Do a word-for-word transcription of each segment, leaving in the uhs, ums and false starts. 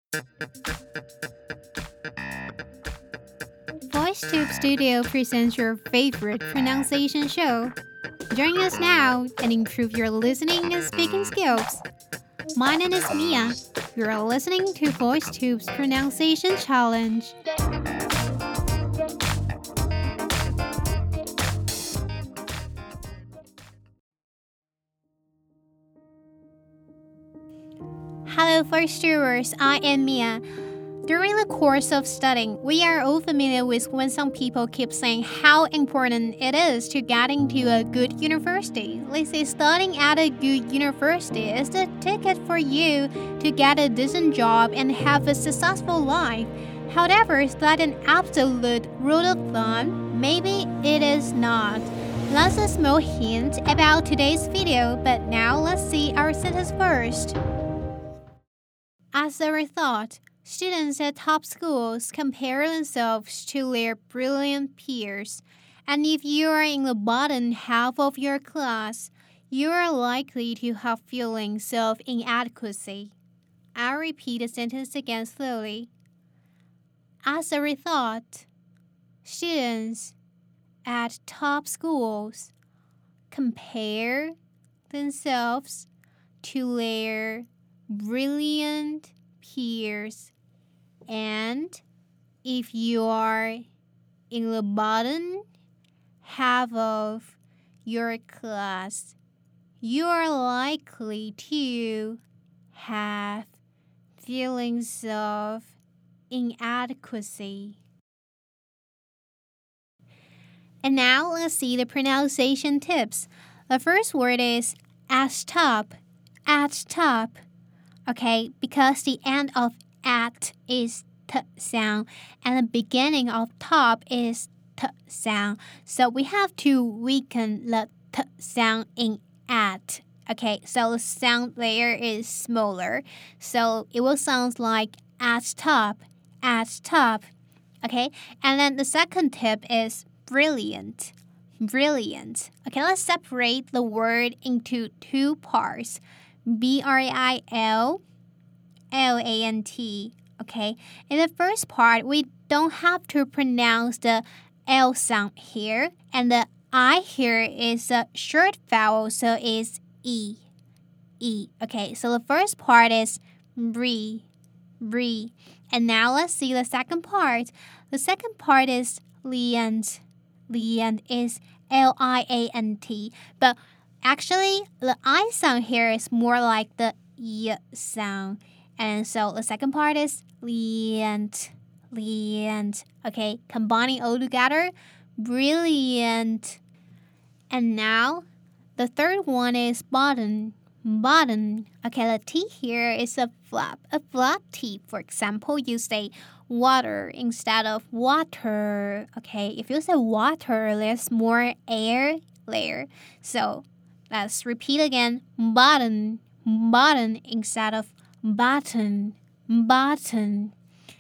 VoiceTube Studio presents your favorite pronunciation show. Join us now and improve your listening and speaking skills. My name is Mia. You're listening to VoiceTube's Pronunciation Challenge. Hello, VoiceTubers. I am Mia. During the course of studying, we are all familiar with when some people keep saying how important it is to get into a good university. They say studying at a good university is the ticket for you to get a decent job and have a successful life. However, is that an absolute rule of thumb? Maybe it is not. That's a small hint about today's video, but now let's see our sentence first. As a result, students at top schools compare themselves to their brilliant peers, and if you are in the bottom half of your class, you are likely to have feelings of inadequacy. I'll repeat the sentence again slowly. As a result, students at top schools compare themselves to their brilliant peers, and if you are in the bottom half of your class, you are likely to have feelings of inadequacy. And now let's see the pronunciation tips. The first word is at top, at top. Okay, because the end of at is t sound and the beginning of top is t sound. So we have to weaken the t sound in at. Okay, so the sound there is smaller. So it will sound like at top, at top. Okay, and then the second tip is brilliant, brilliant. Okay, let's separate the word into two parts. B R I L L A N T. Okay, in the first part, we don't have to pronounce the L sound here, and the I here is a short vowel, so it's E. E. Okay, so the first part is re, re. And now let's see the second part. The second part is liant. Liant is L I A N T, but actually, the I sound here is more like the Y sound. And so the second part is liant, liant. Okay, combining all together, brilliant. And now, the third one is bottom, bottom. Okay, the T here is a flap, a flat T. For example, you say water instead of water. Okay, if you say water, there's more air there. So let's repeat again. Button, button instead of button, button.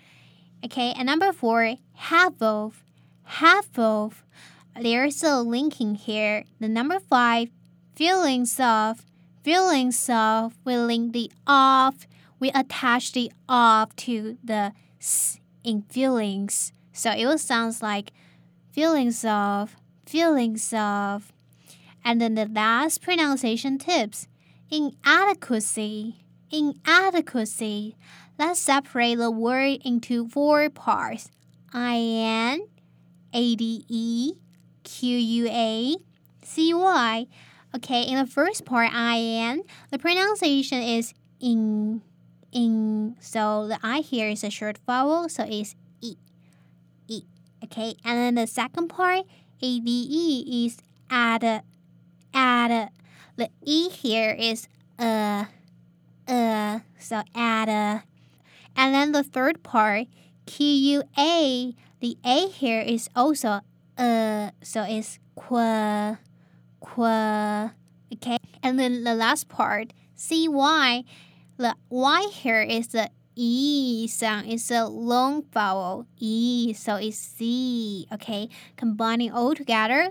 Okay, and number four, half of, half of. There's a linking here. The number five, feelings of, feelings of. We link the of. We attach the of to the s in feelings. So it will sound like feelings of, feelings of. And then the last pronunciation tips, inadequacy, inadequacy. Let's separate the word into four parts. I N A D E Q U A C Y. Okay, in the first part, I N, the pronunciation is in, in. So the I here is a short vowel, so it's E, E. Okay, and then the second part, A D E, is add, add. The E here is uh, uh, so add. And then the third part, Q U A, the A here is also uh, so it's qua, qua. Okay, and then the last part, C Y, the Y here is the E sound, it's a long vowel, E, so it's C. Okay, combining all together,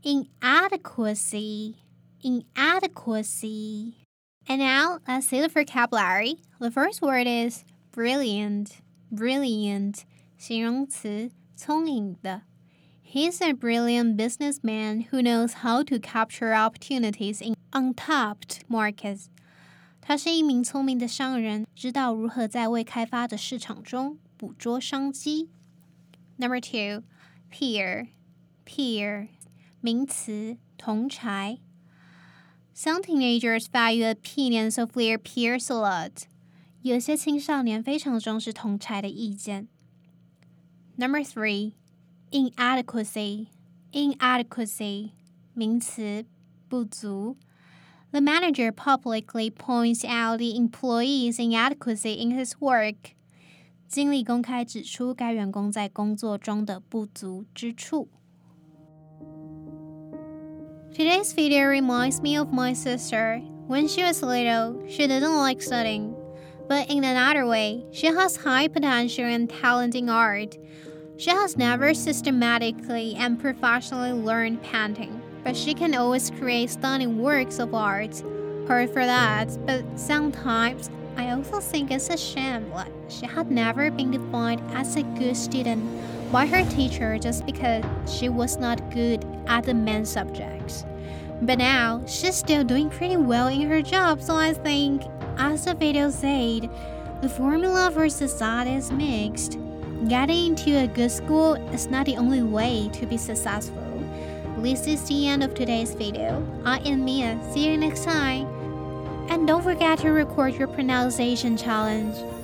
inadequacy, inadequacy. And now let's see the vocabulary. The first word is brilliant, brilliant 形容词，聪颖的。He's a brilliant businessman who knows how to capture opportunities in untapped markets. 他是一名聪明的商人，知道如何在未开发的市场中捕捉商机。Number two, peer, peer, 名词，同侪。Some teenagers value opinions of their peers a lot. 有些青少年非常重视同侪的意见。Number three, inadequacy, inadequacy, 名词，不足。The manager publicly points out the employee's inadequacy in his work. 经理公开指出该员工在工作中的不足之处。Today's video reminds me of my sister. When she was little, she didn't like studying. But in another way, she has high potential and talent in art. She has never systematically and professionally learned painting, but she can always create stunning works of art. Hard for that, but sometimes I also think it's a shame that she had never been defined as a good student by her teacher just because she was not good at the main subjects. But now, she's still doing pretty well in her job, so I think, as the video said, the formula for success is mixed. Getting into a good school is not the only way to be successful. This is the end of today's video. I am Mia. See you next time. And don't forget to record your pronunciation challenge.